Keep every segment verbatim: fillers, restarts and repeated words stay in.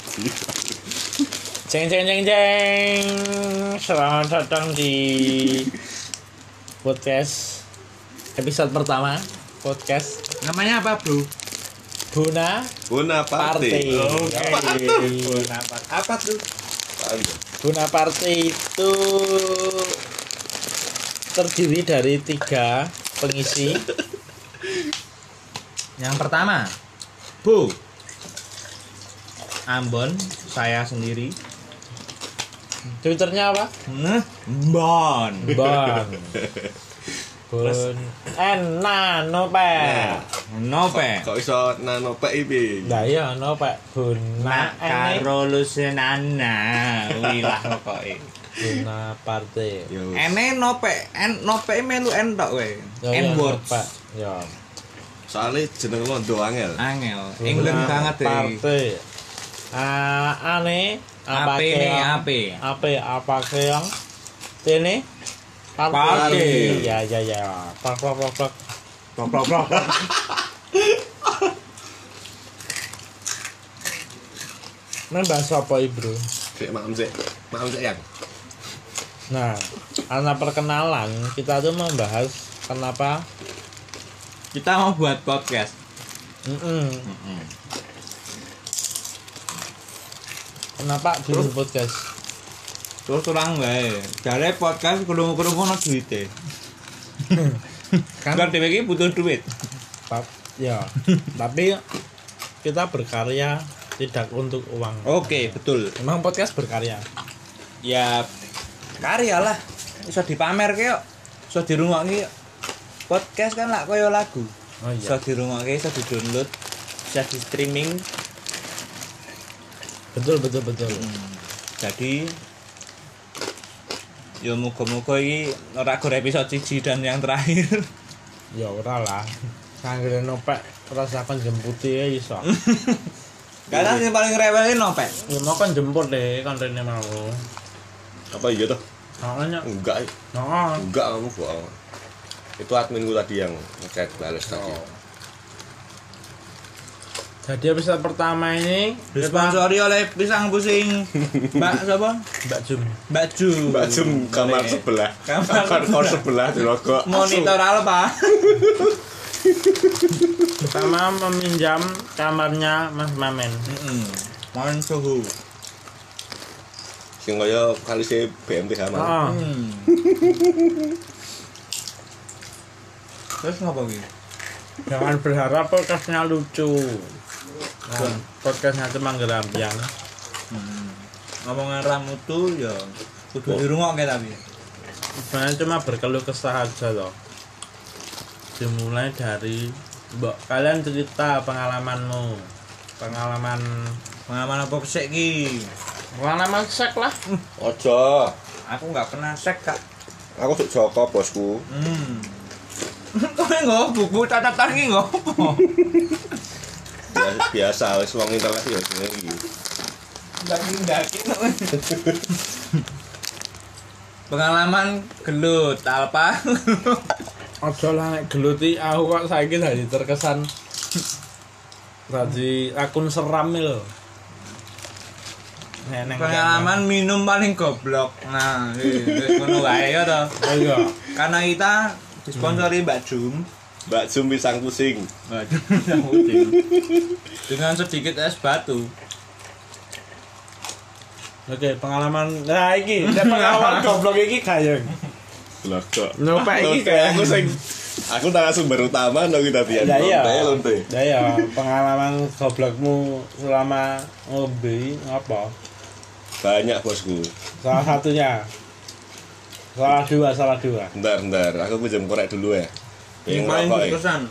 Ceng ceng ceng ceng. Selamat datang di podcast episode pertama podcast. Namanya apa, Bro? Buna Buna Party. Oke. Okay. Buna Party. Apa tuh? Buna Party itu terdiri dari tiga pengisi. Yang pertama, Bu Ambon, saya sendiri. Twitternya apa? Nah, Bon. Bon. Bon. Ena nope. Nope. Kok iso nano P I B? Lah iya nope. Buna Nak karo lusenana. Wilah pokoke. Buna Party. Yo. Ene nope, en nope melu entok kowe. En words. Ya. Soalnya jeneng londo angel. Angel. England banget deh. Party. Ah, ane apa Ape nih, ape. Ape apa keong? Ini Party. Ya ya ya. Plak plak plak plak. Plok plok plok. Nah, bahas apa Bro? Sik maem sik. Maem sik yang. Nah, karena perkenalan kita tuh membahas kenapa Kita mau buat podcast. Mm-mm. Kenapa bikin podcast? Terus terang wae. Jare podcast krungu-krungu ono duite. Kan Kan dhewe iki butuh duit. Pap, ya. Tapi kita berkarya tidak untuk uang. Oke, betul. Emang podcast berkarya. Ya karya lah. Iso dipamerke kok. Iso dirungokke kok. Podcast kan lak koyo lagu. Oh Iso iya. dirungokke, iso di-download, bisa di streaming. Betul betul betul. Hmm. Jadi ya muga-muga iki ora gore episode siji dan yang terakhir. Ya ora lah. Sanggene nopek rasakan jemputi ya iso. Karena yang paling rewel iki nopek. Ya mau kan jemput deh kan rene mau. Apa iya toh? Soalnya Enggak. nah, Enggak kamu bohong. Itu adminku tadi yang ngechat bales tadi. Oh. Jadi episode pertama ini Disponsori oleh pisang pusing Mbak sapa? Mbak Jum. Mbak Ju. Mbak Jum kamar Boleh. sebelah. Kamar Kamar kos sebelah di logo. Monitor Alpha. Pertama meminjam kamarnya Mas Mamen. Heeh. Mohon suhu. Sing kaya kali si B M T H Oh. Hmm. Terus ngapa iki? Jangan berharap podcastnya lucu. Nah, podcastnya cuma gerampiang. Hmm. Ngomongan ramu tuh ya kudu dirungokke tapi. Sebenarnya cuma berkeluh kesah aja loh. Dimulai dari mbok kalian cerita pengalamanmu. Pengalaman Pengalaman apa sik iki? pengalaman sek lah. Ojo. Aku enggak pernah sek, Kak. Aku suk Joko bosku. Hmm. Kowe nggo buku catatan iki nggo apa? Biasa, biasa wis wong internet ya jenenge iki. Daging-daging. Pengalaman gelut alpa. Ojo lah nek geluti aku kok saiki dadi terkesan dadi akun seram lho. Nek neng Pengalaman minum paling goblok. Nah, wis ngono wae ya to. oh iya. Karena kita disponsori Mbak Jum. Mbak Jum pisang pusing. Mbak Jum yang putih. Dengan sedikit es batu. Oke, pengalaman nah iki, nek pengalaman goblok iki kayeng. Lah kok. Nopek iki Lonte, kayak aku sing aku narasumber utama no kita pian. Ya iya. Lonte, lonte. Ya ya, pengalaman goblokmu selama ngombe apa? Banyak bosku. Salah satunya. Salah dua, salah dua. Bentar, bentar. Aku pinjam korek dulu ya. Yang paling berkesan.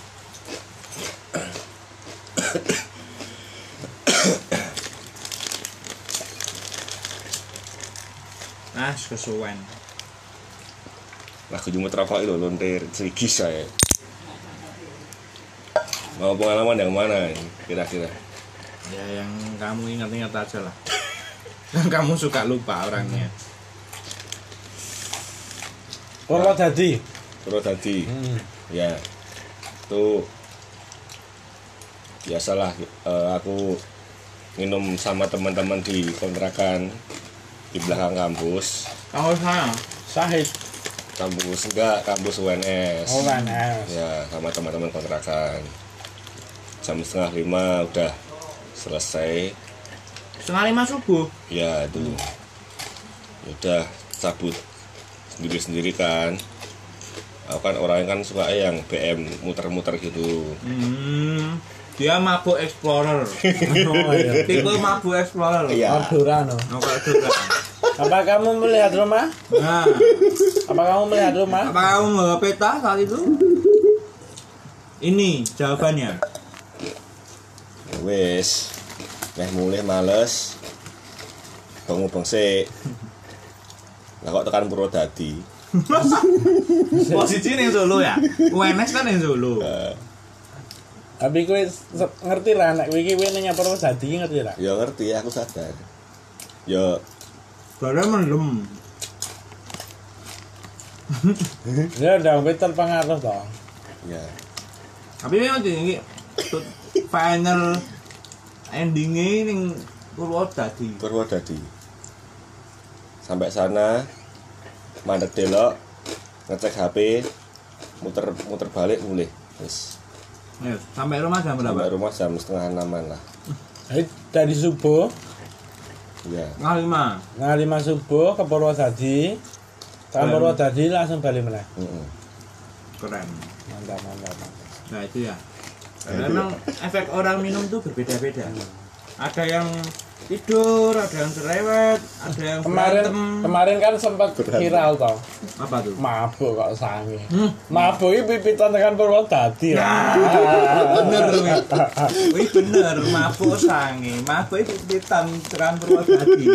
Nah, kesuwen. Lagu cuma rokok itu lonte serigis saya. Mau pengalaman yang mana kira-kira? Ya yang kamu ingat-ingat aja lah. Yang kamu suka lupa orangnya. Purwodadi. Purwodadi. Hmm. Ya. Itu biasalah uh, aku minum sama teman-teman di kontrakan di belakang kampus. Kamu sana. Sahid. Kampus enggak, kampus U N S. Oh, U N S. Ya, sama teman-teman kontrakan. Jam setengah lima udah selesai. Setengah lima subuh. Ya itu. Ya udah cabut sendiri-sendiri kan. Aku kan orangnya kan suka yang B M muter-muter gitu. Hmm. Dia mabuk explorer. Oh, iya. Tipe mabuk explorer. Iya. Ordura no. Oh, kalau juga. Apa kamu melihat rumah? Nah, Apa kamu melihat rumah? apa kamu bawa peta saat itu? Ini jawabannya. Wes. Meh mulih males. Bangun sik. Lah kok tekan Purwodadi. Posisi ning Solo ya. U N S kan ning Solo. Tapi kowe se- ngerti lah nek kowe iki kowe nang Purwodadi ngerti lah. Ya ngerti, aku sadar. Ya Barang mendem. Ya udah kowe terpengaruh toh. ya. Tapi memang ini tut- final endingnya ning Purwodadi. Purwodadi. Sampai sana mandek delok, ngecek H P, muter muter balik mulih. Wis. Ya, sampai rumah jam Sampai berapa? rumah jam setengah enaman lah. Jadi dari subuh, Ya. Setengah lima. nah lima subuh ke Purwodadi. Tekan Hmm. Purwodadi langsung balik meneh. Heeh. Keren. Mantap, mantap, mantap. Nah itu ya. Karena memang efek orang minum tuh berbeda-beda. Ada yang tidur, ada yang cerewet, ada yang Kemarin berantem. kemarin kan sempat viral toh. Apa tuh? Mabuk kok sange. Hmm. Mabuk iki pipitan tekan Purwodadi. Nah, bener Wi. Wih bener, mabuk sange, mabuk itu pitan tekan Purwodadi.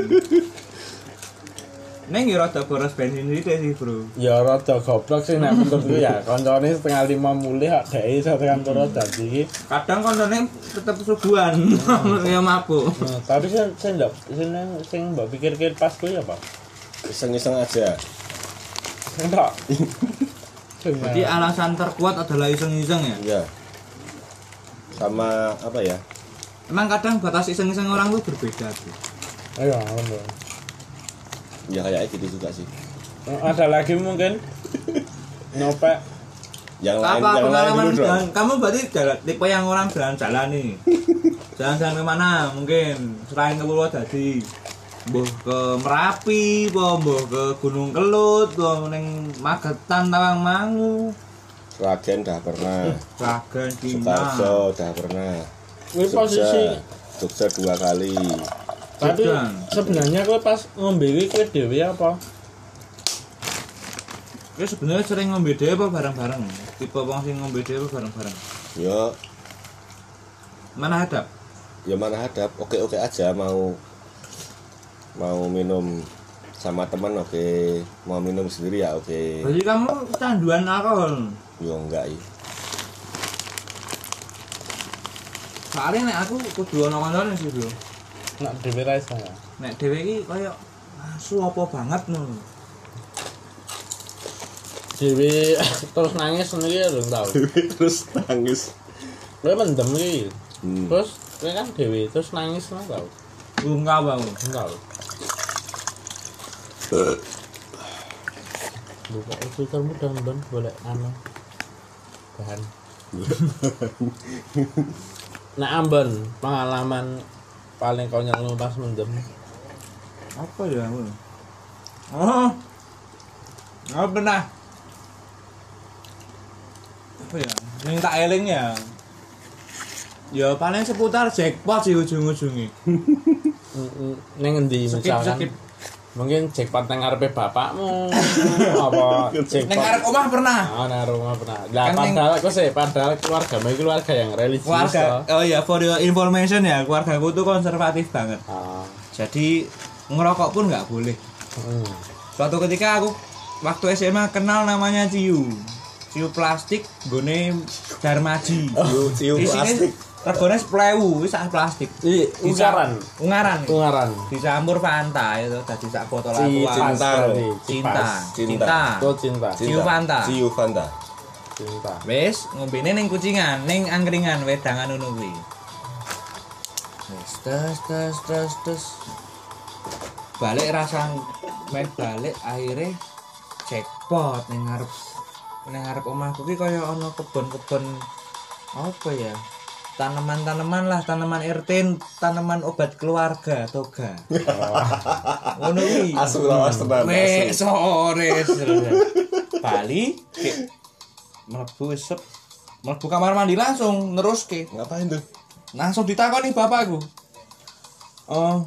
Neng ya rada boros bensin sithik sih, Bro. Ya rada goblok sih nek menurutku ya. Kancane setengah lima mulih kok dhek iso tekan Purwodadi. Kadang koncone tetep subuhan, ya mabuk. Nah, tapi sing sing ndak sing sing mbok pikir-pikir pas kuwi apa? Iseng-iseng aja. Sing tok. Jadi alasan terkuat adalah iseng-iseng ya. Ya. Sama apa ya? Emang kadang batas iseng-iseng orang tuh berbeda tuh. Ayo, ngono. Ya kayak gitu juga sih. Ada lagi mungkin nyopek Yang lain Apa yang lain pengalaman dulu dong. jalan? Kamu berarti jalan, tipe yang orang jalan-jalan nih. Jalan-jalan kemana? Mungkin selain ke Purwodadi, mbuh ke Merapi, apa mbuh ke Gunung Kelut, apa ning Magetan, Tawangmangu, Sragen dah pernah. Sragen, Cina. Sukarso dah pernah. kuwi posisi Jogja dua kali. tapi Jogja. sebenarnya kowe pas ngombe iki kowe dhewe apa? Kowe sebenarnya sering ngombe dhewe apa bareng-bareng? Tipe wong sing ngombe dhewe apa bareng-bareng? Ya, Mana hadap? ya mana hadap. Oke-oke aja mau mau minum sama teman oke, mau minum sendiri ya oke. Berarti kamu kecanduan alkohol. Yo enggak iya. Soalnya nek aku kudu ana kancane sih, Bro. Nek dhewe ra iso. Nek dhewe iki kaya asu apa banget no. Dhewe terus nangis sendiri lho tau. Terus nangis. Kowe mendem iki. Hmm. Terus kowe kan dhewe terus nangis lho tau. Enggak, Bang. Enggak. Buka itu kamu dan boleh anu bahan. Nah Ambon pengalaman paling konyol lu pas mendem. Apa ya? Oh. Oh, pernah. Apa ya? Yang tak eling ya. Ya paling seputar jackpot sih ujung-ujungnya. Neng ngendi Skip, misalkan skip. mungkin jackpot nang ngarepe bapakmu apa Neng jackpot arek omah pernah. ah nang rumah pernah lah Kan neng- padahal aku sih padahal keluarga ini keluarga yang religius Keluarga. toh. Oh ya, for your information ya, keluargaku tuh konservatif banget. Ah, Jadi ngerokok pun nggak boleh. hmm. Suatu ketika aku waktu S M A kenal namanya ciu. Ciu plastik gone Darmaji. Ciu- ciu plastik. Regane sepuluh wis sak plastik. Ih, ungaran Ungaran. ungaran Dicampur Fanta itu tadi sak botol Ci- aqua. cinta tadi, Cinta. cipas. Cinta. itu cinta Ciu Fanta. Ciu Fanta. cinta Wis ngombene ning kucingan, ning angkringan wedangan ngono kuwi. Wes tes tes tes tes. Balik rasa main balik akhirnya jackpot ning ngarep ning ngarep omahku ki kaya ana kebon-kebon apa ya? Tanaman-tanaman lah, tanaman R T, tanaman obat keluarga, toga. Ngono kuwi. Asu lawas tenan. Wes sore. Bali mlebu sep mlebu kamar mandi langsung neruske. Ngapain tuh? Langsung ditakoni bapakku. Oh,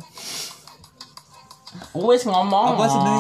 Wis ngomong. Apa sih, Dek?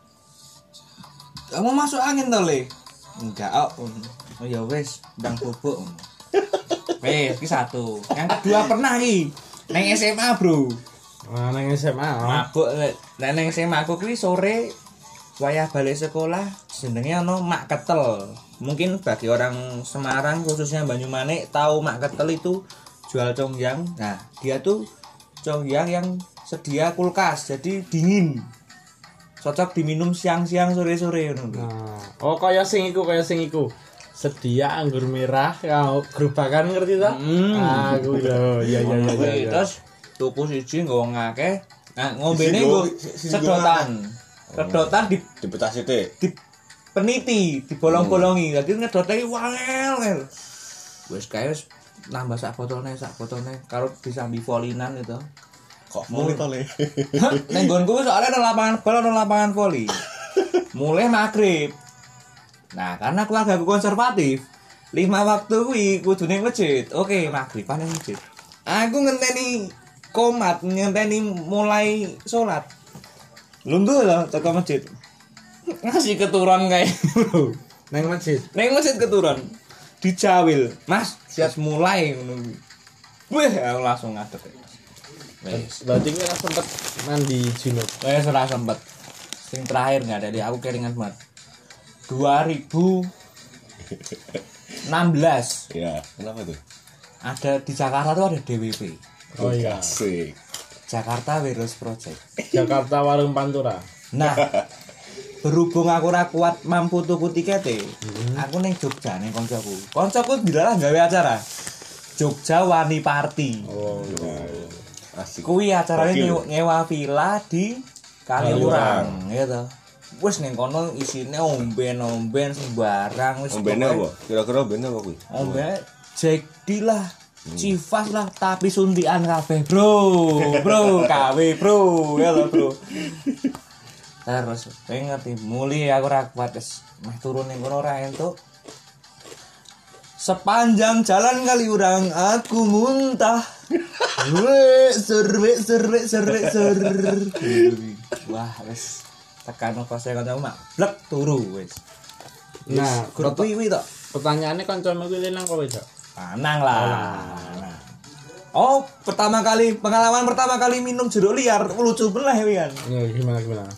Kamu masuk angin to, Le? Enggak, oh. Oh ya wis, ndang bubuk. Wes, iki satu. Yang kedua pernah iki. Neng S M A, Bro. Nah, nang S M A. Mabuk nek neng S M A aku kuwi sore wayah balik sekolah jenenge ana mak ketel. Mungkin bagi orang Semarang khususnya Banyumanik tahu mak ketel itu jual congyang. Nah, dia tuh congyang yang sedia kulkas, jadi dingin. Cocok diminum siang-siang sore-sore ngono. Nah, oh kaya sing iku kaya sing iku. Sedia anggur merah, kau gerobakan ngerti ta? Hmm. Ah, kuwi lho. Iya iya iya iya. Terus tuku siji nggo ngakeh. Nah, ngombene nggo sedotan. Sedotan di Dipetah sithik. di peniti, dibolong-bolongi. Dadi ngedote iki wangel. Wis kae wis nambah sak botolne, sak botolne karo disambi volinan itu. Kok muli to, Le? Neng nggonku soalnya ada lapangan bola, ada lapangan voli. Mulai maghrib. Nah, karena keluarga aku konservatif, lima waktu kuwi kudu ning masjid. Oke, maghriban ning masjid. Aku ngenteni komat, ngenteni mulai salat. Lunduh lah teko masjid. Ngasih keturun kayak bro. Nang masjid. Neng masjid keturun. Dijawil. Mas, siap mulai ngono. Wih, aku langsung ngadeg. Wes. Berarti kita sempet mandi junub. Wes ora sempet. Sing terakhir enggak ada di aku keringan banget. dua ribu enam belas Ya, kenapa tuh? ada di Jakarta tuh ada D W P. Oh iya. Asik. Jakarta Wireless Project. Jakarta Warung Pantura. Nah, berhubung aku ora kuat mampu tuku tikete, aku ning Jogja ning koncoku. Koncoku dilarang gawe acara. Jogja Wani Party. Oh iya. Asik. Kuwi acarane Gokil. nyewa, nyewa villa di Kaliurang, gitu. Wis ning kono isine omben-omben sembarang wis. Ombene pokoknya- apa? Kira-kira ombene apa kuwi? Omben Jack D lah. Cifas lah tapi suntikan kabeh, Bro. Bro, K W, Bro. Ya lho, Bro. Terus pengen ngerti muli aku ora kuat wis meh turun ning kono ora entuk. Sepanjang jalan Kaliurang aku muntah. Weh, serwe serwe serwe ser. Wah, wis tekan kose kancamu mak blek turu wis. Nah, grup wiwi tok. pertanyaannya kancamu kuwi lanang apa wedok? Lanang lah. Nah. Oh, pertama kali pengalaman pertama kali minum jeruk liar lucu bener ya kan. Ya gimana gimana?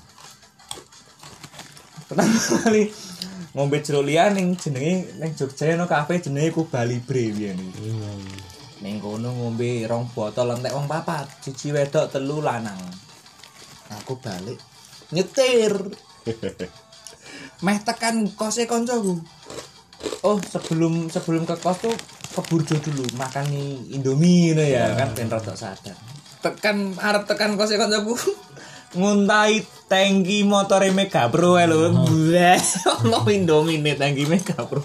Pertama kali ngombe jeruk liar ning jenenge ning Jogja ono kafe jenenge Kuba Libre biyen iki. Hmm. Ning kono ngombe rong botol entek wong papat, siji wedok telu lanang. Aku balik nyetir. Meh tekan kose koncoku. Oh, sebelum sebelum ke kos tuh ke Burjo dulu makan mie Indomie ngono ya, kan ben rada sadar. Tekan arep tekan kose koncoku. Nguntai tangki motore Mega Pro ae lho. Bleh, ono Indomie nih tangki Mega Pro.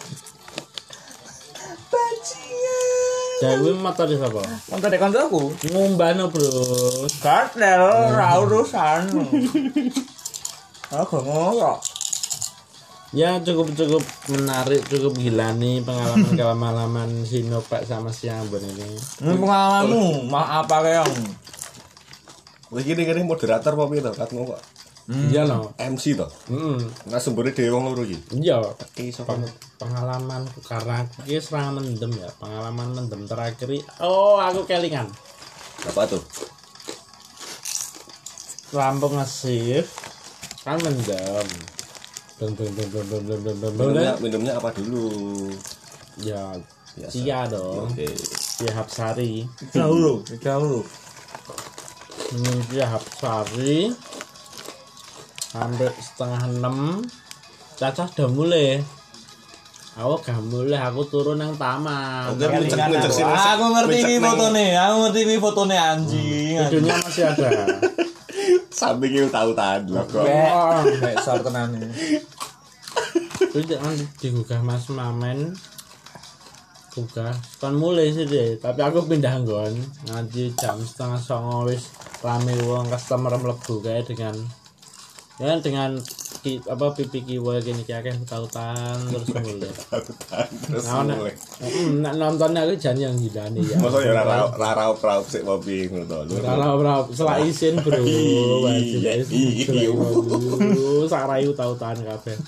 Bajingan. Dewe motor sapa? Motor dek koncoku. Ngombano, Bro. Kartel ra urusan. Aku ngono. Ya cukup-cukup menarik, cukup gila nih pengalaman-pengalaman si Nopek sama si Ambon ini. Ini pengalamanmu, maaf apa yang? Wis iki kene moderator apa piye to? Katmu kok Iya loh. M C to. Heeh. Nah sumbernya dhewe wong loro iki. Iya. Iki sapa? Peng- pengalaman karena aku ki serang mendem ya. Pengalaman mendem terakhir i- oh aku kelingan. Apa tuh? Rampung nge-shift kan mendem. Beng beng beng beng beng beng beng beng beng. Minumnya, minumnya apa dulu? Ya Biasa. Cia dong. Oke. Cia Hapsari. Jauh, jauh. Minum Cia Hapsari. Sampai setengah enam. Cacah udah mulai. Aku gak mulai, aku turun nang taman. Oke, ngecek ngecek sini. Aku ngerti ini fotone, aku ngerti ini fotone anjing. Videonya masih ada. Samping itu tahu-tahu loh kok. Nek sor tenan iki. Terus jangan digugah Mas Mamen. Gugah. Kan mulai sih deh, tapi aku pindah nggon. Nanti jam setengah songo wis rame wong customer mlebu kae dengan ya dengan ki, apa pipi kiwa gini ki akeh tautan terus mulai. Terus Nah, nek mulai. mm, nek nonton aku jan yang gilane ya. Masa ya ora ora raup raup sik mobil ngono to. Kalau bro, setelah isin bro, wajib Iya, isin. iya. Sak rayu tautan kabeh.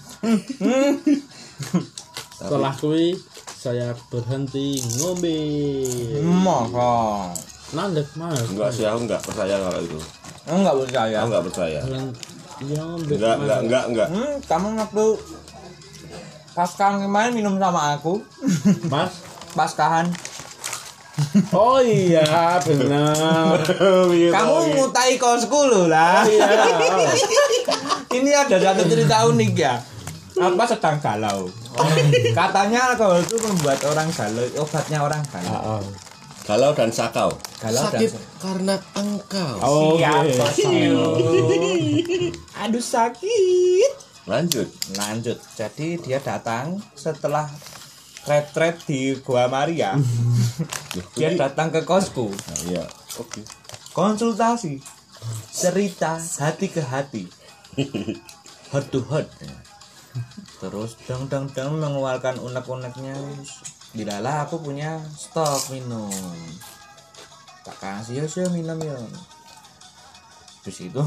Setelah kuwi saya berhenti ngombe. Masa. Nandek mas. Enggak sih, aku enggak percaya kalau itu. Enggak percaya. Aku enggak percaya. Iya ngombe. Enggak, enggak, enggak, enggak. Hmm, kamu waktu paskahan kemarin minum sama aku. Mas. Paskahan. Oh iya benar. Kamu ngutai kosku loh lah. Iya. Ini ada satu cerita unik ya. Apa sedang galau? Katanya alkohol itu membuat orang galau, obatnya orang galau. Heeh. Galau dan sakau. Galau Sakit dan karena engkau. Oh, siapa oke. sih? Aduh sakit. Lanjut. Lanjut. Jadi dia datang setelah retret di Gua Maria. Dia datang ke kosku. Nah, iya. Oke. Konsultasi. Cerita hati ke hati. Heart to heart. Terus dang dang dang mengeluarkan unek-uneknya. Dilalah aku punya stok minum. Tak kasih ya sih minum ya. Terus itu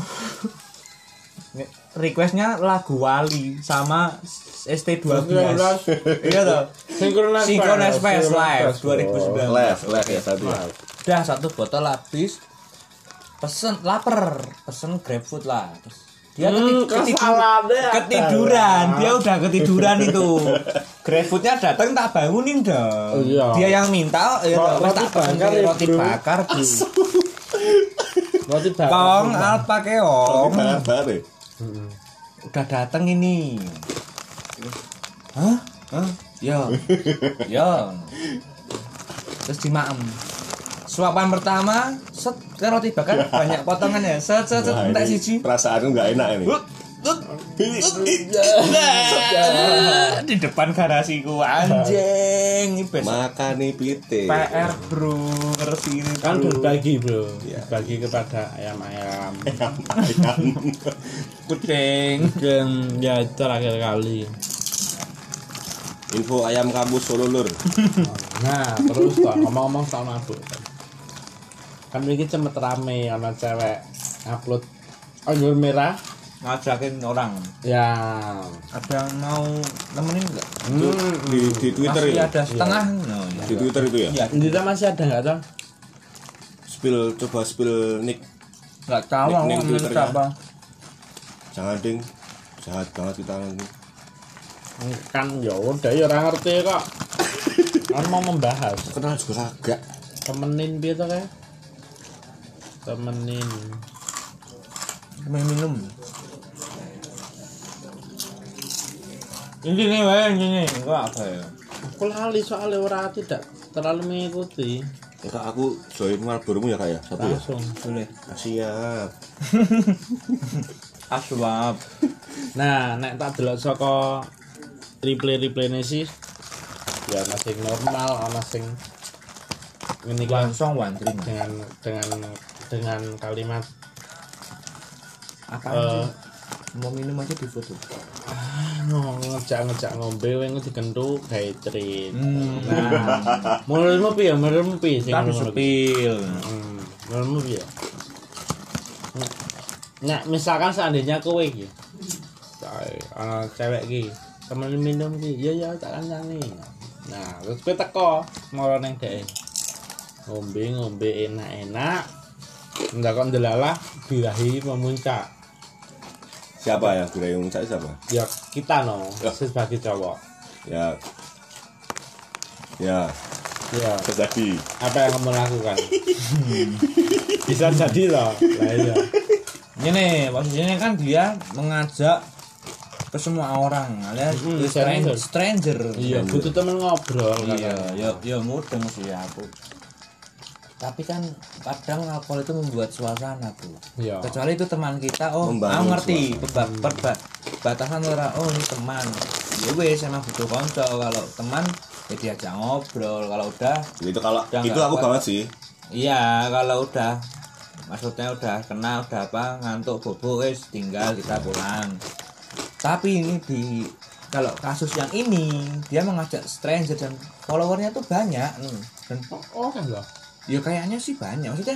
requestnya lagu Wali sama S T dua belas. Iya toh. Synchronize Synchronize Fest Fest. Live dua ribu sembilan belas. Live, live ya tadi ya. Udah satu botol habis. Pesen lapar, pesen GrabFood lah. Terus dia Hmm, keti- ketidur- kesalahannya ada. ketiduran, dia udah ketiduran itu. GrabFoodnya datang tak bangunin dong. Oh, iya. Dia yang minta, ya Roti wes tak pesen bakar ya, roti bro. bakar, Bu. Roti bakar. Kong alpa keong. Bakar ya. Heeh. Udah datang ini. Hah? Hah? Ya. Ya. Terus dimaem. Suapan pertama, set ke roti bakar banyak potongan ya. Set set set Wah, entek ini siji. perasaanku enggak enak ini. Hut, hut. Di depan garasiku anjing. Ini best Makan nih pite. P R bro, ngerti ini Kan bro. berbagi bro, Iya. berbagi kepada ayam-ayam. Kucing. Dan ya itu terakhir kali. Info ayam kampus Solo Lur. Nah terus toh ngomong-ngomong soal mabuk. Kan ini cepet rame ana cewek upload anggur merah. Ngajakin orang. Ya. Ada yang mau nemenin enggak? Hmm, Di di Twitter Masih itu. ada setengah. No, ya. Di Twitter itu ya. Iya. Indira masih ada nggak toh? Spill coba spill nick. Enggak tahu Nick- aku nick ngomong Twitternya. apa. Jangan ding. Jahat banget kita nanti. Kan ya udah ya orang ngerti kok. Kan mau membahas. Kenal juga kagak. Temenin piye to kae? Temenin. Main minum. Ini nih, wae ini. Enggak apa ya? Aku lali soalnya ora tidak terlalu mengikuti. Ya Kak, aku join Marlboro ya Kak ya. Satu ya. Langsung. Boleh. Ah, siap. Aswab. Nah, nek tak delok saka replay-replayne sih ya ana sing normal, ana sing ngene iki Langsung wandring. dengan dengan dengan kalimat Apa eh mau minum aja di foto. ah, ngejak-ngejak ngombe wing dikentu gawe treat. Hmm. Nah, menurutmu piye? Menurutmu piye sing Tapi ngono kuwi? sepil. Hmm, menurutmu piye? Nah, misalkan seandainya kowe iki ana cewek iki temen minum iki, ya ya tak kancani. Nah, terus kowe teko moro ning dhek. Ngombe-ngombe enak-enak. Ndak kok ndelalah birahi memuncak. Siapa yang birahi muncak siapa? Ya kita no, Ya. sebagai cowok. Ya. Ya, Ya, terjadi. apa yang kamu lakukan? Bisa jadi loh. Lah iya. Ini posisinya kan dia mengajak ke semua orang alias Hmm, stranger, stranger. stranger. Iya, butuh temen ngobrol Iya, kan. ya ya mudeng sih aku. Tapi kan kadang alkohol itu membuat suasana tuh. Iya. Kecuali itu teman kita, oh Membangun aku ngerti suasana. peba- perba- batasan ora, oh ini teman. Ya wes emang butuh konco, kalau teman ya diajak ngobrol, kalau udah Itu kalau Udah itu nggak aku apa. banget sih. iya, kalau udah maksudnya udah kenal, udah apa ngantuk bobo wes tinggal kita pulang. Tapi ini di kalau kasus yang ini dia mengajak stranger dan followernya tuh banyak hmm. dan Oh, kan loh. ya kayaknya sih banyak maksudnya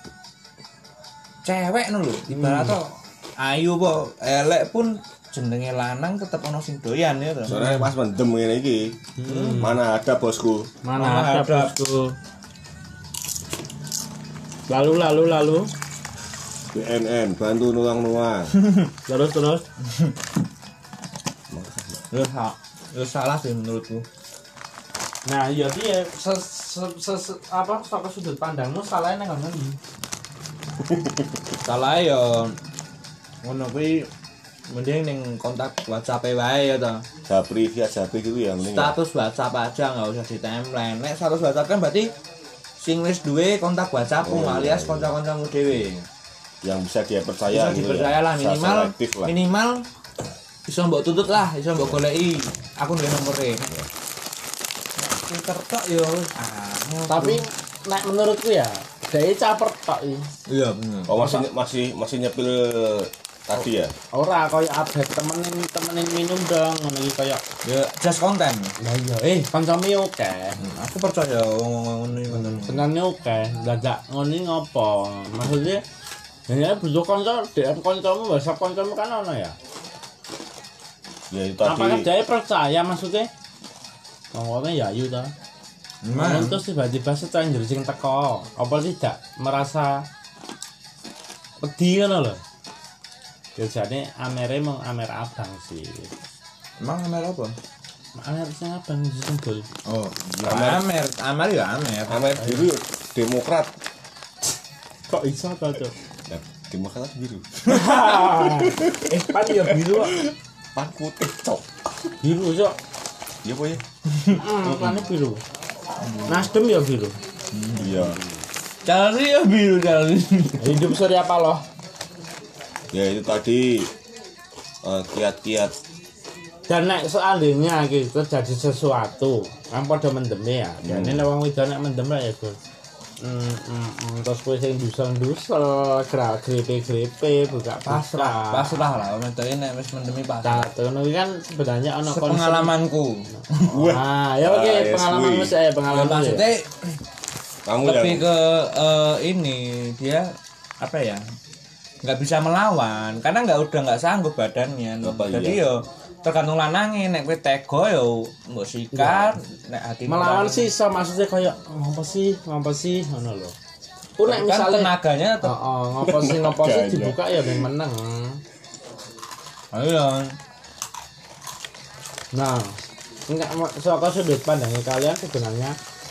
cewek nu lho ibarat to ayu po elek pun jenenge lanang tetep ono sing doyan ya to. Soalnya pas mendem ngene iki. Mana ada bosku. Mana Mana ada ada. bosku. Lalu lalu lalu B N N bantu nuang-nuang. terus terus. Lu sa- lu salah sih menurutku. Nah, iya dia se, se, se, se- apa saka sudut pandangmu salahnya nang ngono. Salah ya ngono kuwi mending ning kontak WhatsApp wae ya to. Japri via Japri gitu ya mending. ya. Status WhatsApp aja nggak usah di timeline. Nek status WhatsApp kan berarti sing wis duwe kontak WhatsAppmu Oh, alias iya. kanca-kancamu dhewe. Yang bisa dia percaya Bisa gitu dipercaya ya. lah Bisa minimal selektif lah. minimal bisa mbok tutut lah, bisa mbok goleki. Aku duwe nomere. Twitter tok yo wis. Ah, Tapi nek menurutku ya, dhek caper tok iki. iya bener. Oh masih masih masih nyepil tadi ya. Ora koyo update temenin temenin minum dong ngono iki koyo. Ya just konten. Lah iya, eh kancamu yo oke. Aku percaya ngomong ini ngono. Senane oke, dadak ngono iki ngopo? Maksudnya ya butuh kanca, D M kancamu, WhatsApp kancamu kan ono ya. Ya itu Apakah tadi. dia percaya maksudnya? Ngomongnya ya ayu ta. Nah, Nah, terus tiba-tiba stranger sing teko, apa tidak merasa pedih ngono lho. Biasanya amere mung amer abang sih. emang Amer apa? Amer sing abang sembul. Oh, Amer. Amer, Amer ya Amer. Amer biru Demokrat. Kok iso to, Cuk? Ya, Demokrat biru. eh, pan ya biru kok. Pan putih cok. Biru, Cuk. Iya po ya. Heeh, pan biru. Nasdem ya biru. Iya. Cari ya biru cari. Hidup Surya Paloh. Ya itu tadi eh, kiat-kiat. Dan nek seandainya iki terjadi sesuatu, kan padha mendeme ya. Jane nek wong wedok nek mendem lah ya, Gus. Hmm, hmm, hmm, terus kowe sing dusel-dusel, grepe-grepe, buka Pasrah, pasrah. pasrah lah. Menteri nek wis mendemi pasrah. Nah, ngono iki kan sebenarnya ana konsep. Pengalamanku. Ah, ya oke, Ah, ya, pengalamanmu suwi. saya Ya, pengalaman. maksudnya Kamu lebih yang ke eh, ini dia apa ya? Nggak bisa melawan karena nggak udah nggak sanggup badannya. Apa Jadi iya? yo tergantung lanange nek kowe tega yo mbok sikat, nek hati Melawan sih iso maksudnya kayak ngopo sih, ngopo sih ngono lho. Ku nek kan misale tenaganya tetep heeh, ngopo sih ngopo sih Gajah. dibuka ya ben meneng. ayo. Nah, enggak saka sudut pandangnya kalian sebenarnya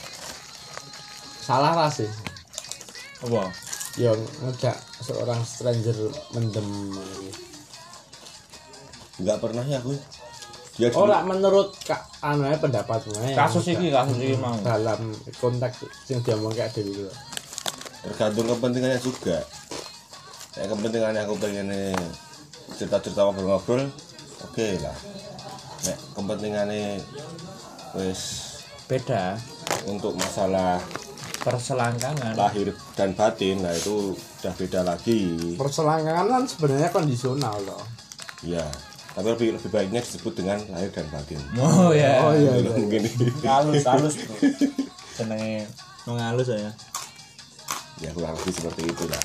salah lah sih. Apa? Ya ngejak seorang stranger mendem gitu. nggak pernah ya aku. Dia dulu- Ora menurut ka, anu ae pendapatmu ae. Kasus iki kasus iki mau. dalam konteks sing diomong kayak dhewe iki lho. tergantung kepentingannya juga. Ya kepentingannya aku pengen cerita-cerita ngobrol-ngobrol, oke lah. Nek kepentingannya wis Beda untuk masalah perselangkangan. lahir dan batin, nah itu udah beda lagi. Perselangkangan kan sebenarnya kondisional loh. Ya, tapi lebih lebih baiknya disebut dengan lahir dan batin. Oh ya. Oh iya iya. Mungkin Halus halus bro. Senenge mengalus saya. ya kurang lebih seperti itu lah.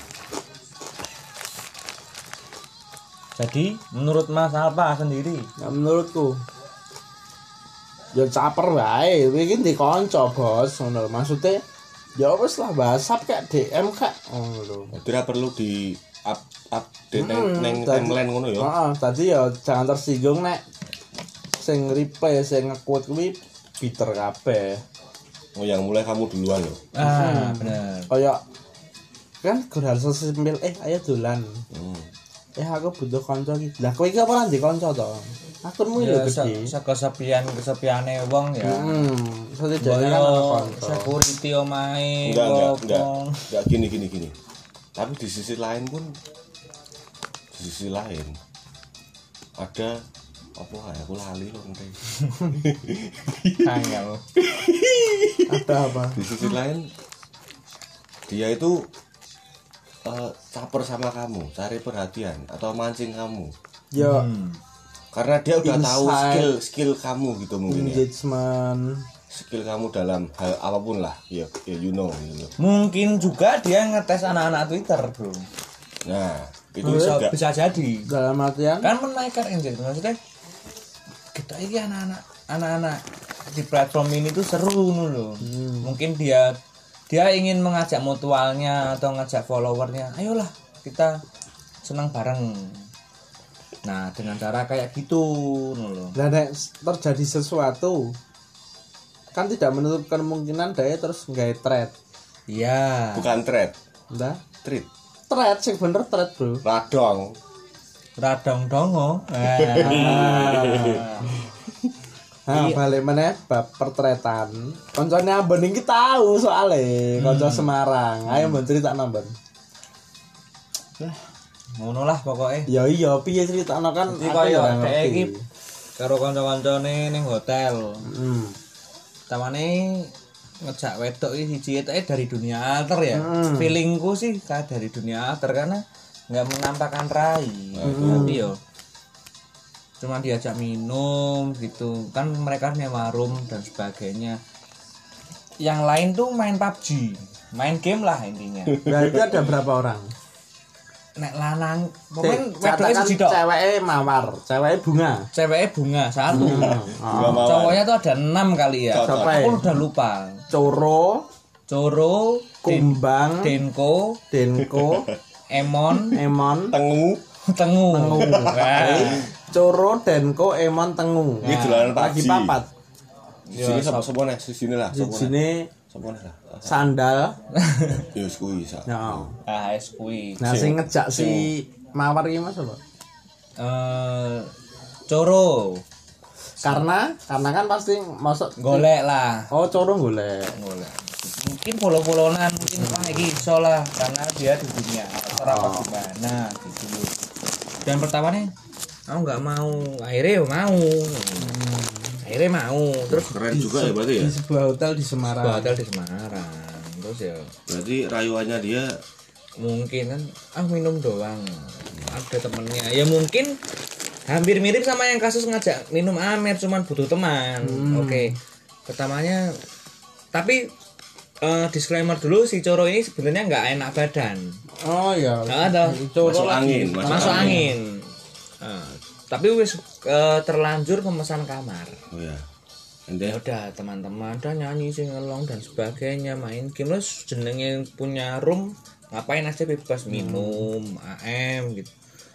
Jadi menurut Mas Alpa sendiri Nah, menurutku ya caper wae, kowe iki ndek kanca, Bos, ngono lho. Maksudnya ya wis lah WhatsApp kayak D M kak ngono lho. Jadi ora perlu di up update neng Hmm, neng tadi- timeline ngono ya. Heeh, tadi ya jangan tersinggung nek sing reply sing nge-quote kuwi bitter kabeh. Oh yang mulai kamu duluan loh. ah bener. Kayak kan gur hal sesimpel eh ayo dolan. Hmm. eh aku butuh kanca iki. Lah kowe iki apa lan di kanca to? Akunmu lho Ya gede. se- kesepian kesepiane wong ya. Hmm, setidaknya kan Boyo ana kanca. security omahe Enggak, enggak, apa. enggak. Enggak gini gini gini. Tapi di sisi lain pun di sisi lain ada apa ya aku lali loh nanti. Angel. Ada apa? Di sisi lain dia itu eh, caper sama kamu, cari perhatian atau mancing kamu. Yo, Hmm. Karena dia udah tahu Inside. skill skill kamu gitu mungkin ya. engagement. Skill kamu dalam hal apapun lah. Ya, ya you know gitu. Mungkin juga dia ngetes anak-anak Twitter, Bro. Nah, itu Bisa, juga bisa jadi. Dalam artian Kan menaikkan engagement maksudnya kita ini anak-anak anak-anak di platform ini tuh seru nih loh. Mungkin dia dia ingin mengajak mutualnya atau ngajak followernya, ayolah kita senang bareng. Nah dengan cara kayak gitu nih loh. dan nek terjadi sesuatu kan tidak menutup kemungkinan dia terus nggak thread. Iya. bukan thread, Ndah, treat. thread sing bener thread, Bro. Radong. Radong dongo. Nah, balik meneh bab pertretan. Koncone Ambon iki tahu soalnya kanca Semarang. Ayo mbon critakno, Mbon. Ngono lah pokoknya. Ya iya, piye critakno kan Jadi aku ya kaya ora dhek ngerti. iki karo kanca-kancane ning hotel. Hmm. Tamane ngejak wedok iki siji eteke dari dunia alter ya. Hmm. Feelingku sih kayak dari dunia alter karena nggak menampakkan rai. Tapi yo cuma diajak minum gitu kan mereka nyewa room dan sebagainya. Yang lain tuh main P U B G, main game lah intinya. Berarti ada berapa orang? Nek lanang pokoknya Cek, wedoknya katakan siji tok. ceweknya mawar, ceweknya bunga. Ceweknya bunga satu. Bunga mawar. Cowoknya tuh ada enam kali ya. Cocok. Siapa ya? Aku udah lupa. Coro, Coro, Den- Kumbang, Denko, Denko, Emon, Emon, Tengu. Tengu. Tengu. Nah, Coro, Denko, Emon, Tengu. Ini dolanan Lagi P U B G. papat. Di sini sapa sapa nih? Di sini lah. Di Sapa nih? sini Sapa nih lah? sandal. Ya wis kuwi sak. Ya. ah es kui. Nah, sing ngejak si mawar iki Mas apa? Eh, Coro, Karena karena kan pasti masuk golek lah. Oh, Coro golek. Golek. Mungkin follow-followan mungkin wah iki iso lah karena dia di dunia alter apa gimana gitu. Dan pertamanya aku nggak mau, akhirnya ya mau. Akhirnya mau. Terus Keren juga ya berarti ya. Di sebuah hotel di Semarang. ke hotel di Semarang. Terus ya Berarti rayuannya dia mungkin kan ah minum doang ada temennya ya mungkin hampir mirip sama yang kasus ngajak minum Amer cuman butuh teman. Oke pertamanya tapi eh, disclaimer dulu si Coro ini sebenarnya nggak enak badan. Oh iya. Nggak ada Coro masuk lagi. angin, masuk, masuk angin, Eh, tapi wis eh, terlanjur pemesan kamar. Oh ya. And Ya then udah teman-teman ada nyanyi sing ngelong dan sebagainya main game terus jenenge punya room ngapain aja bebas minum A M gitu.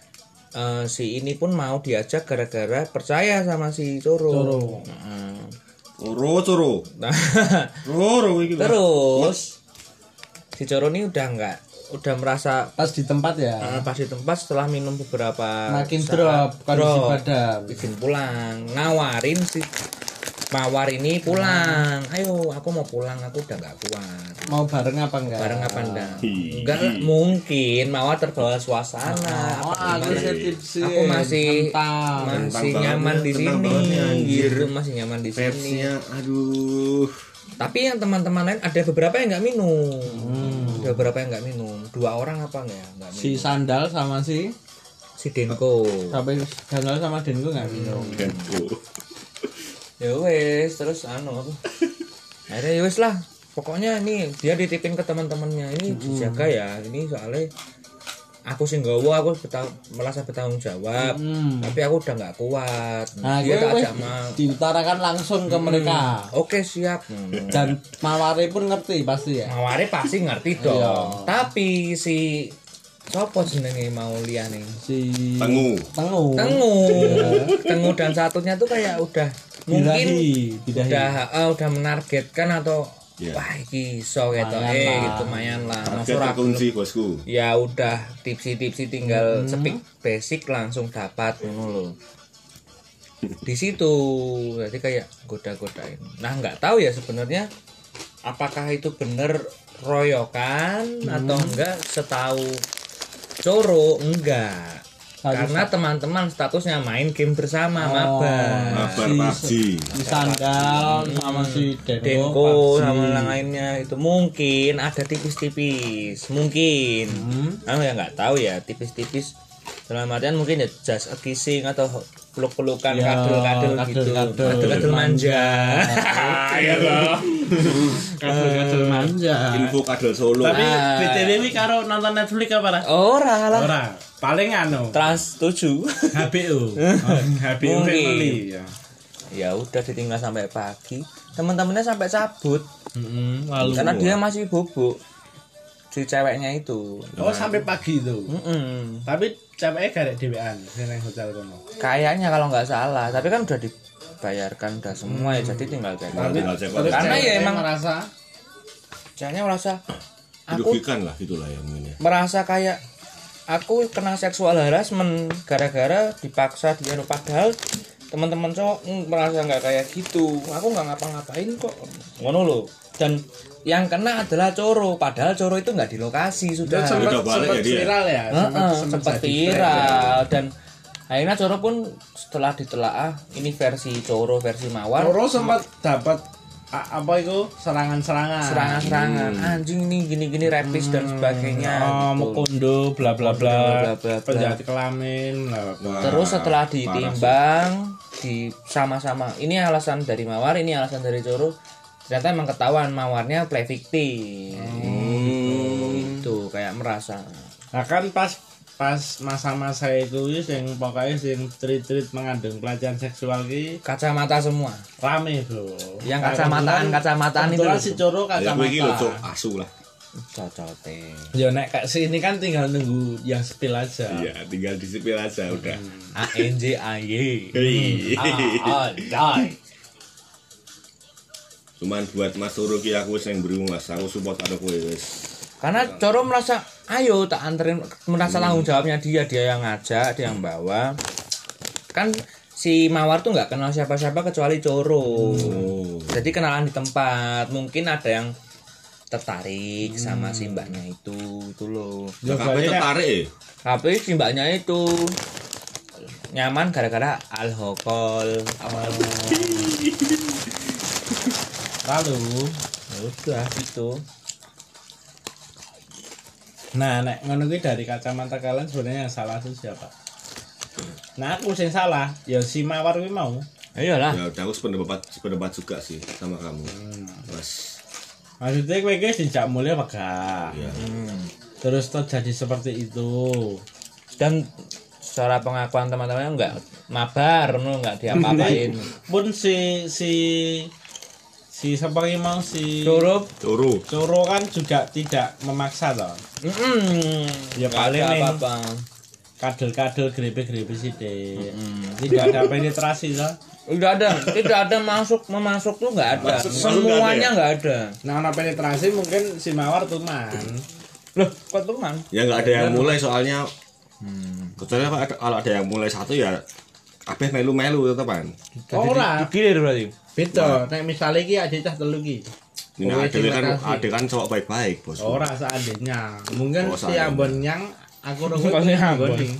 Eh, si ini pun mau diajak gara-gara percaya sama si Coro. Coro. Heeh. Coro coro. Nah, Coro iki. terus si Coro ini udah enggak udah merasa Pas di tempat ya. eh, pas di tempat setelah minum beberapa Makin saat, drop kondisi drop. badan. Bikin pulang ngawarin si Mawar ini pulang, ayo aku mau pulang, aku udah nggak kuat. Mau bareng apa enggak? Bareng apa enggak? Hi. Enggak lah, mungkin Mawar terbawa suasana. Oh, apa aku gimana. sih tipsi. Aku masih Tentang. masih Tentang nyaman banget, di tentang sini, banget nih, anjir. gitu masih nyaman di sini. Vibes-nya aduh. Tapi yang teman-teman lain ada beberapa yang nggak minum, Hmm. ada beberapa yang nggak minum. Dua orang apa enggak? Nggak minum. Si sandal sama si Si Denko. sampai sandal sama Denko enggak minum. Denko. Ya wes terus anu apa akhirnya ya wes lah pokoknya ini dia dititipin ke teman-temannya ini dijaga ya ini soalnya aku sih nggawa aku betang, merasa bertanggung jawab Hmm. tapi aku udah nggak kuat Nah, dia gue tak wes ajak mau diutarakan langsung ke mereka. oke siap Dan Mawari pun ngerti pasti ya. Mawari pasti ngerti dong Iya. tapi si sopo jenenge mau liane Si Tengu. Tengu. Tengu Tengu dan satunya tuh kayak udah mungkin Bidahi, bidahi. udah eh, udah menargetkan atau Iya. wah iki iso ketoke Lumayan lah. gitu lumayan lah. Harga Masuk ora terkunci bosku. ya udah tipsi-tipsi tinggal Hmm. speak basic langsung dapat ngono lho. Di situ jadi kayak goda-godain. Nah nggak tahu ya sebenarnya apakah itu bener royokan atau enggak, setahu Coro enggak. Karena teman-teman statusnya main game bersama mabar. Mabar Si- P U B G. Si Sandal sama si Denko, Denko P U B G. sama yang lainnya itu mungkin ada tipis-tipis, mungkin. Hmm. Aku ya nggak tahu ya tipis-tipis. Dalam artian mungkin ya just a kissing atau peluk-pelukan, Ya, kadel-kadel gitu, kadel-kadel. kadel-kadel manja. Iya loh. Kadel-kadel manja. Info kadal Solo. Tapi Ah. B T W ini karo nonton Netflix apa lah? Ora lah. Ora, paling anu Trans tujuh. H B O. Oh, H B O Mungkin. family ya. Ya udah ditinggal sampai pagi. Teman-temannya sampai cabut Heeh, lalu. karena dia masih bubuk. Si ceweknya itu. Oh, sampai pagi itu. Mm-mm. Tapi ceweknya gak ada dewean nang hotel kono. Kayaknya kalau nggak salah, tapi kan udah dibayarkan udah semua ya, jadi tinggal cek. Nah, tinggal cek Tapi Karena ya ceweknya emang- merasa Ceweknya merasa aku Dirugikan lah gitulah ya mungkin ya. merasa kayak aku kena seksual harassment gara-gara dipaksa dia padahal teman-teman cowok mm, merasa nggak kayak gitu. Aku nggak ngapa-ngapain kok. Ngono loh. Dan yang kena adalah Coro, padahal Coro itu nggak di lokasi sudah. sempat Udah balik sempat ya dia? viral ya, Heeh, sempat sempat jadi viral dan akhirnya Coro pun setelah ditelaah ini versi Coro versi Mawar Coro sempat dapat a- apa itu serangan-serangan. serangan-serangan anjing nih gini-gini rapis dan sebagainya Oh, gitu. mukondo bla bla bla, Bla, bla, bla. penjahat kelamin bla bla. Terus setelah Parah sih. ditimbang di sama-sama ini alasan dari Mawar ini alasan dari Coro, ternyata emang ketahuan Mawarnya play victim. Itu kayak merasa Nah kan pas pas masa-masa itu wis yang pokoknya sing treat-treat mengandung pelecehan seksual ki kacamata semua. rame bro. Yang Nah, kacamataan- kebetulan- kacamataan itu kebetulan loh. si Coro Ya gue iki lho cok kacamata. asu lah. Cocote. Ya nek kayak sini kan tinggal nunggu yang spill aja. Iya, tinggal disipil aja udah. A N J A Y. Hei. Ah, die. Cuman buat Mas Turu ki aku wis yang berimu Mas, aku support karo kowe wis. Karena Coro merasa, ayo tak anterin, merasa tanggung jawabnya dia, dia yang ngajak, dia yang bawa. Kan si Mawar tuh nggak kenal siapa-siapa kecuali Coro. Oh. Jadi kenalan di tempat, mungkin ada yang tertarik sama si mbaknya itu, itu loh. Lah kabeh tertarik ya? Tapi si mbaknya itu nyaman gara-gara alkohol. Lalu Ya udah gitu. nah nek ngono kuwi dari kacamata kalian sebenarnya yang salah itu siapa? Nah aku sing salah ya si Mawar kuwi mau. Iyalah. Ya udah aku sependapat sependapat juga sih sama kamu. Mas. Maksudnya kowe guys dijak mulia apa gak? Iya. Terus terjadi seperti itu. Dan secara pengakuan teman-temannya enggak mabar, no, enggak diapa-apain. Pun si si si siapa yang mau si Curup. Turu. Coro kan juga tidak memaksa toh. Mm-mm. Ya Nggak paling ada nih. apa-apa. Kadel-kadel grepe-grepe sih deh. Tidak ada penetrasi toh. Tidak ada, tidak ada masuk memasuk tuh nggak ada. Masuk- masuk Semuanya nggak ada. Nah, ana penetrasi mungkin si Mawar tuman. Loh, kok teman? Ya nggak ada yang mulai soalnya. Kecuali kalau ada, kalau ada yang mulai satu ya kabeh melu-melu teman. Ora, Digilir berarti. beda. Nek misale iki ade cah telu iki. Ini Kowe ada kan dibatasi. ada kan cowok baik-baik bos. Ora seandainya. Mungkin Oh, si seandainya. Ambon yang aku rungok Kok si Ambon? nih.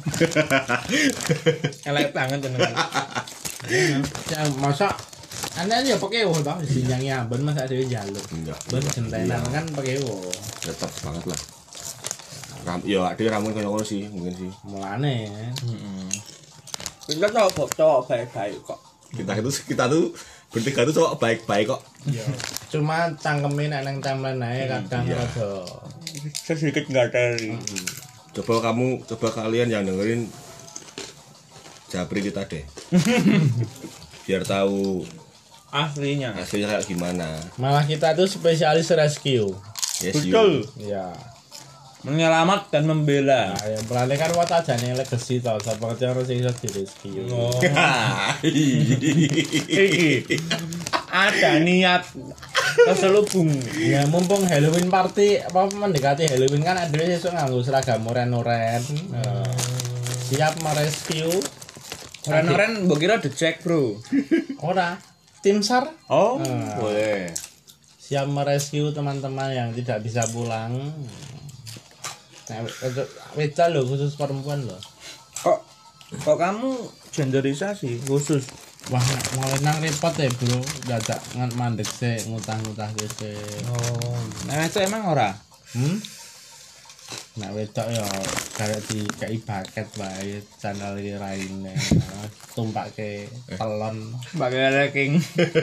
Elek banget tenan. Ya masa anda ya pakai wo toh sinyangi Ambon masa dhewe njaluk. Enggak. Ben gentenan kan pakai wo. Tetap banget lah. Ram, ya ada ramun kayak ngono sih mungkin sih. Mulane. Kita cowok cowok baik-baik kok. Kita itu kita tuh bertiga tuh cowok baik-baik kok. Ya. Cuma cangkemin nek nang timeline ae kadang Iya. rada Sedikit nggak dari. Coba kamu coba kalian yang dengerin Japri kita deh. Biar tahu Aslinya. hasilnya kayak gimana. malah kita tuh spesialis rescue. Yes, Betul. Ya. Menyelamat dan membela. Nah, yang pelane kan wat ajane legacy to, sapa kece ora sing iso di rescue. Oh. you. Iki. ada niat terselubung. Ya mumpung Halloween party apa mendekati Halloween kan ada sesuk nganggo seragam oren-oren. Eh, siap merescue. Oren-oren mbok kira dicek, Bro. Ora. Tim SAR Oh, Ah. boleh. siap merescue teman-teman yang tidak bisa pulang. Nah, untuk wedok loh khusus perempuan loh. Kok kok kamu genderisasi khusus? Wah, mau nang repot ya bro, dadak ngan mandek sih ngutang-ngutang sih. Oh, nah itu emang ora. Hmm? Nah wedok ya kayak di kayak paket wae channel iki raine. Tumpake telon. Pakai ranking.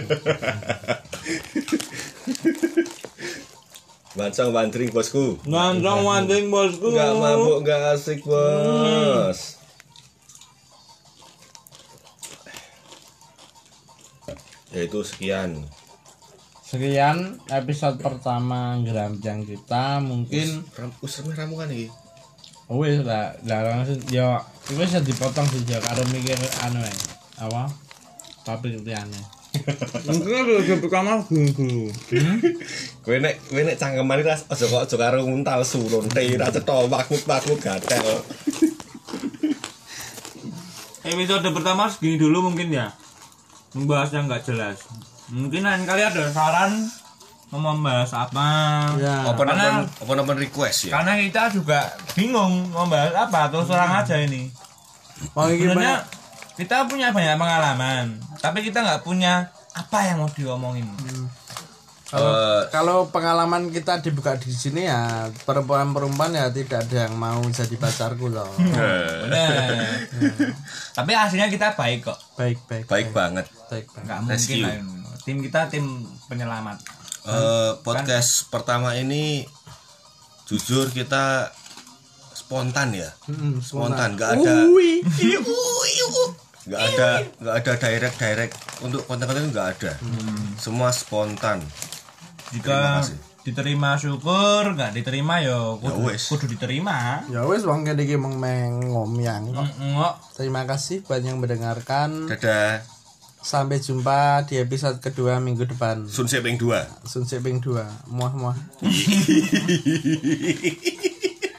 Bancang wandering bosku. Nandang wanding bosku. Enggak mabuk, enggak asik, Bos. Ya itu sekian. Sekian episode pertama Geramjang kita mungkin Ram, usrame ramu kan iki. wis lah lah langsung ya iku bisa dipotong sih ya karo mikir anu ae. Apa? Topik liyane. Mungkin ada pertama guru. Kowe nek kowe nek cangkeman iki aja kok aja karo nguntal surun te ra cetha makmut-makmut gatel. Episode pertama segini dulu mungkin ya. Membahas yang nggak jelas. Mungkin lain kali ada saran mau membahas apa. Ya. Open-open open-open request ya. Karena kita juga bingung membahas apa, terus terang aja ini. Oh iki Sebenarnya kita punya banyak pengalaman, tapi kita nggak punya apa yang mau diomongin. Kalau, Eh, kalau pengalaman kita dibuka di sini ya perempuan-perempuan ya tidak ada yang mau jadi pacarku loh. Bener. Tapi hasilnya kita baik kok. Baik baik Baik banget. baik baik. Nggak mungkin Rescue. lah. Tim kita tim penyelamat. Eh, podcast pertama ini jujur kita spontan ya. Hmm, Spontan, nggak ada nggak ada nggak ada direct direct untuk konten-konten itu nggak ada. Semua spontan. Jika Terima kasih. diterima syukur, nggak diterima yo kudu, wes. kudu diterima. Ya wis wong kene iki mung meng ngomyang kok. Enggak. Terima kasih buat yang mendengarkan. Dadah. Sampai jumpa di episode kedua minggu depan. Sun Seping dua. Sun Seping dua. Muah muah.